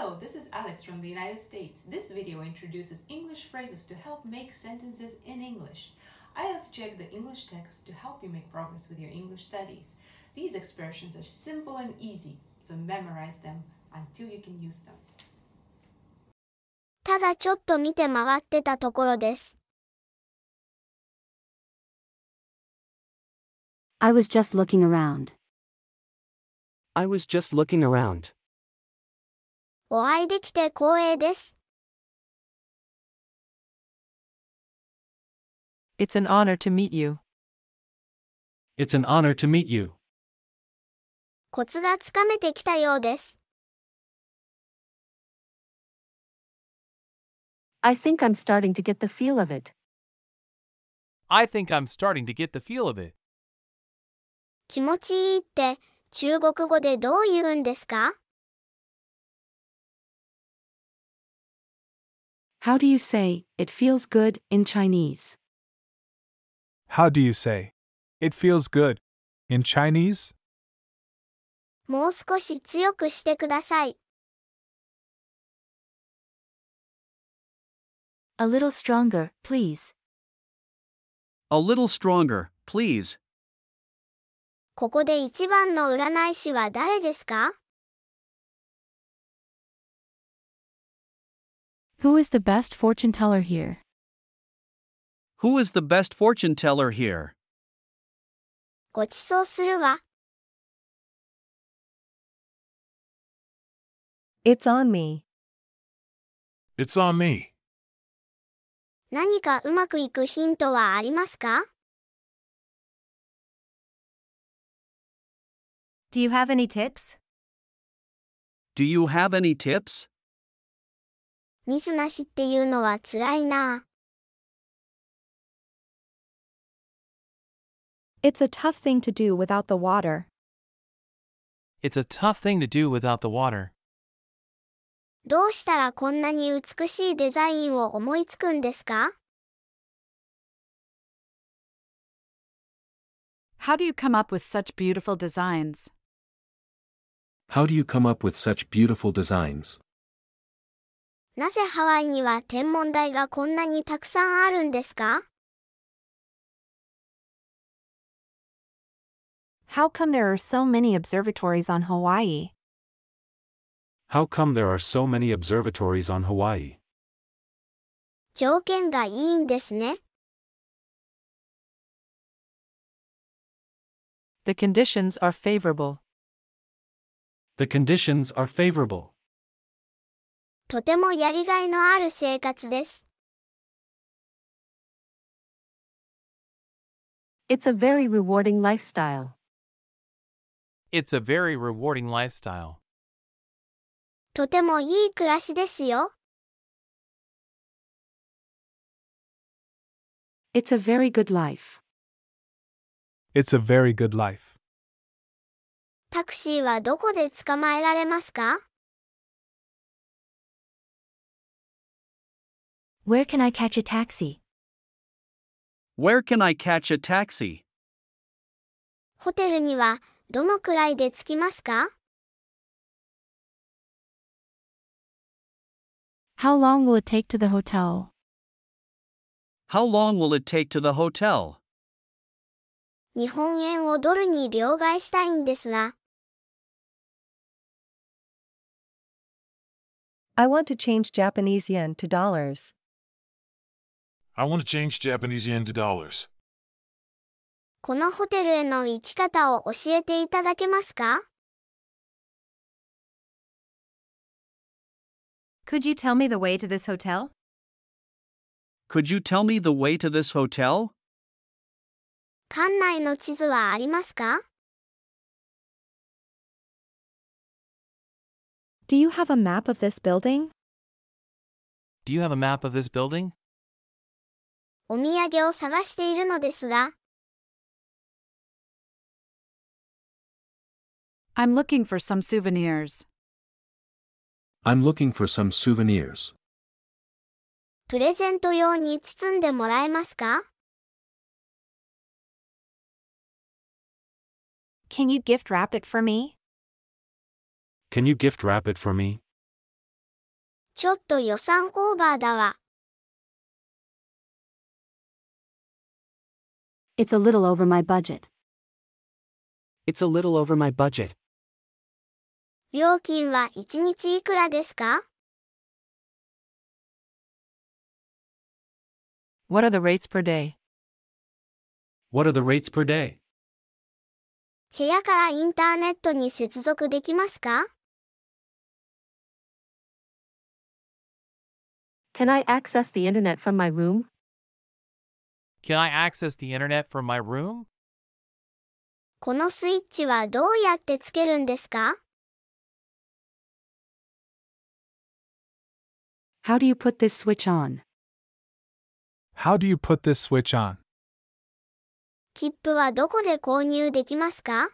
Hello, this is Alex from the United States. This video introduces English phrases to help make sentences in English. I have checked the English text to help you make progress with your English studies. These expressions are simple and easy, so memorize them until you can use them. ただちょっと見て回ってたところです。 I was just looking around. I was just looking around. お会いできて光栄です。 It's an honor to meet you. It's an honor to meet you. コツがつかめてきたようです。 I think I'm starting to get the feel of it. I think I'm starting to get the feel of it. 気持ちいいって中国語でどう言うんですか？ How do you say, it feels good, in Chinese? How do you say, it feels good, in Chinese? もう少し強くしてください。 A little stronger, please. A little stronger, please. ここで一番の占い師は誰ですか？ Who is the best fortune teller here? Who is the best fortune teller here? ごちそうするわ。 It's on me. It's on me. 何かうまくいくヒントはありますか？ Do you have any tips? Do you have any tips? ミスなしっていうのはつらいな。 It's a tough thing to do without the water. It's a tough thing to do without the water. どうしたらこんなに美しいデザインを思いつくんですか？ How do you come up with such beautiful designs? How do you come up with such beautiful designs? なぜハワイには天文台がこんなにたくさんあるんですか？ How come there are so many observatories on Hawaii? How come there are so many observatories on Hawaii? 条件がいいんですね。 The conditions are favorable. The conditions are favorable. とてもやりがいのある生活です。 It's a very rewarding lifestyle. It's a very rewarding lifestyle. とてもいい暮らしですよ。 It's a very good life. It's a very good life. タクシーはどこで捕まえられますか？ Where can I catch a taxi? Where can I catch a taxi? ホテルにはどのくらいで着きますか？ How long will it take to the hotel? How long will it take to the hotel? 日本円をドルに両替したいんですが。 I want to change Japanese yen to dollars. I want to change Japanese yen to dollars. このホテルへの行き方を教えていただけますか？ Could you tell me the way to this hotel? Could you tell me the way to this hotel? 館内の地図はありますか？ Do you have a map of this building? Do you have a map of this building? お土産を探しているのですが。 I'm looking for some souvenirs. I'm looking for some souvenirs. プレゼント用に包んでもらえますか？ Can you gift wrap it for me? Can you gift wrap it for me? ちょっと予算オーバーだわ。 It's a little over my budget. It's a little over my budget. 料金は1日いくらですか？ What are the rates per day? What are the rates per day? 部屋からインターネットに接続できますか？ Can I access the internet from my room? Can I access the internet from my room? このスイッチはどうやってつけるんですか？ How do you put this switch on? How do you put this switch on? 切符はどこで購入できますか？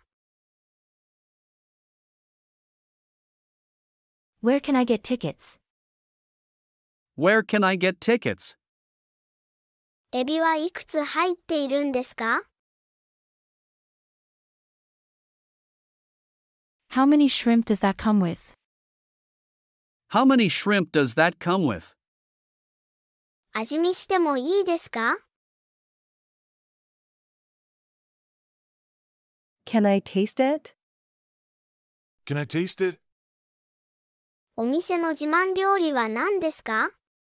Where can I get tickets? Where can I get tickets? エビはいくつ入っているんですか？ How many shrimp does that come with? How many shrimp does that come with? 味見してもいいですか？ Can I taste it? Can I taste it? お店の自慢料理は何ですか？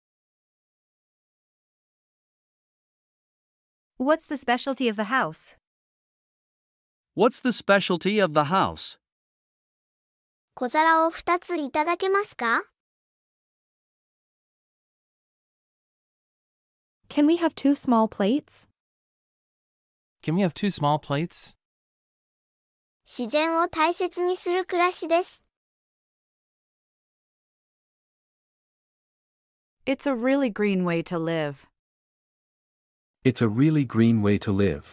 What's the specialty of the house? What's the specialty of the house? 小皿を2ついただけますか？ Can we have 2 small plates? Can we have 2 small plates? 自然を大切にする暮らしです。 It's a really green way to live. It's a really green way to live.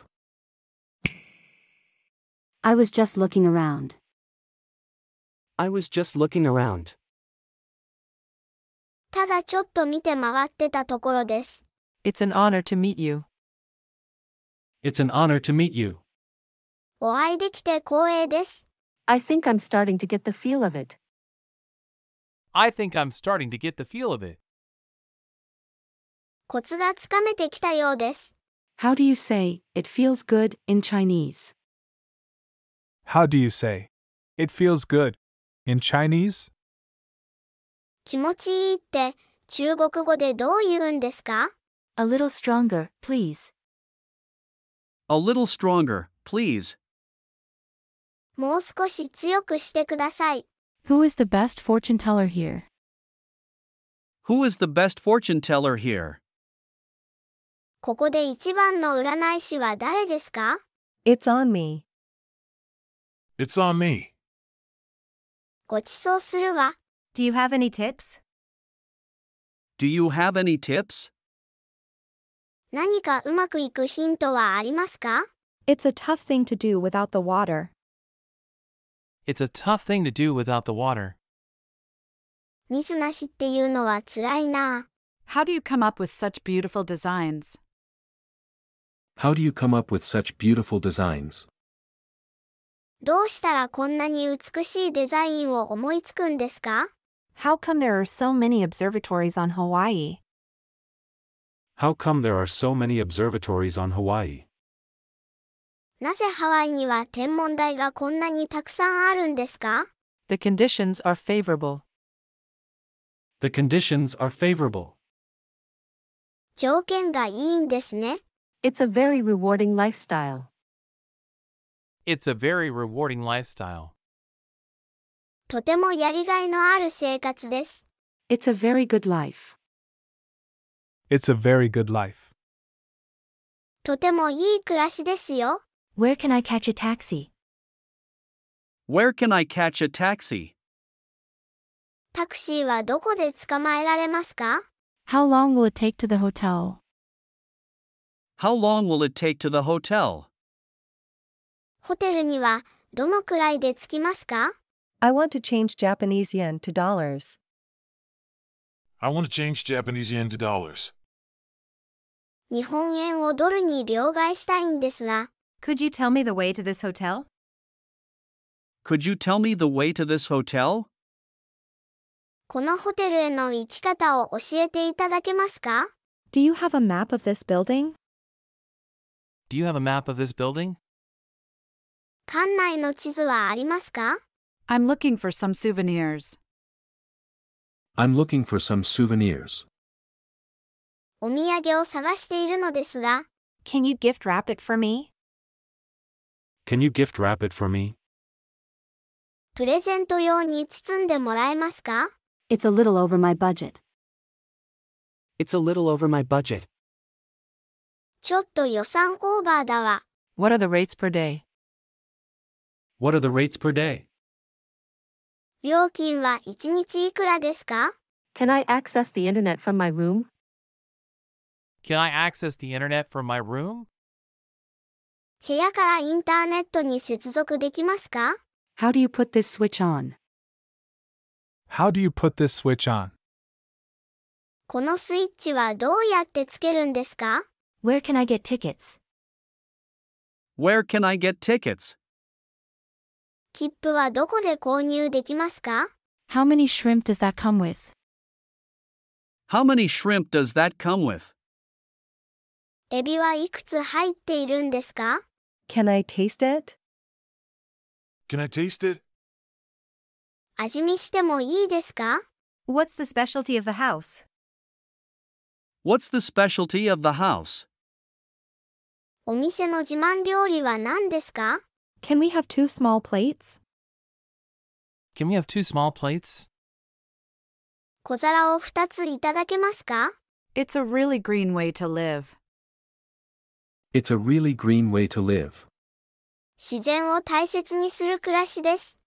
I was just looking around. I was just looking around. ただちょっと見て回ってたところです。 It's an honor to meet you. It's an honor to meet you. お会いできて光栄です。 I think I'm starting to get the feel of it. I think I'm starting to get the feel of it. コツがつかめてきたようです。 How do you say, it feels good, in Chinese? How do you say? It feels good. In Chinese? 気持ちいいって中国語でどう言うんですか？ A little stronger, please. A little stronger, please. もう少し強くしてください。 Who is the best fortune teller here? Who is the best fortune teller here? ここで一番の占い師は誰ですか？ It's on me. It's on me. ごちそうするわ。 Do you have any tips? Do you have any tips? 何かうまくいくヒントはありますか？ It's a tough thing to do without the water. It's a tough thing to do without the water. 水なしっていうのは辛いな。 How do you come up with such beautiful designs? How do you come up with such beautiful designs? どうしたらこんなに美しいデザインを思いつくんですか？ How come there are so many observatories on Hawaii? How come there are so many observatories on Hawaii? なぜハワイには天文台がこんなにたくさんあるんですか？ The conditions are favorable. The conditions are favorable. 条件がいいんですね。 It's a very rewarding lifestyle. It's a very rewarding lifestyle. とてもやりがいのある生活です。 It's a very good life. It's a very good life. とてもいい暮らしですよ。 Where can I catch a taxi? Where can I catch a taxi? タクシーはどこで捕まえられますか？ How long will it take to the hotel? How long will it take to the hotel? ホテルにはどのくらいで着きますか？ I want to change Japanese yen to dollars. I want to change Japanese yen to dollars. 日本円をドルに両替したいんですが、 Could you tell me the way to this hotel? Could you tell me the way to this hotel? このホテルへの行き方を教えていただけますか？ Do you have a map of this building? Do you have a map of this building? 館内の地図はありますか？ I'm looking for some souvenirs. I'm looking for some souvenirs. お土産を探しているのですが、 Can you gift wrap it for me? Can you gift wrap it for me? プレゼント用に包んでもらえますか？ It's a little over my budget. It's a little over my budget. ちょっと予算オーバーだわ。 What are the rates per day? What are the rates per day? 料金は1日いくらですか？ Can I access the internet from my room? Can I access the internet from my room? 部屋からインターネットに接続できますか？ How do you put this switch on? How do you put this switch on? このスイッチはどうやってつけるんですか？ Where can I get tickets? Where can I get tickets? 切符はどこで購入できますか？ How many shrimp does that come with? How many shrimp does that come with? エビはいくつ入っているんですか？ Can I taste it? Can I taste it? 味見してもいいですか？ What's the specialty of the house? What's the specialty of the house? お店の自慢料理は何ですか？ Can we have 2 small plates? Can we have 2 small plates? 小皿を2ついただけますか？ It's a really green way to live. It's a really green way to live. 自然を大切にする暮らしです。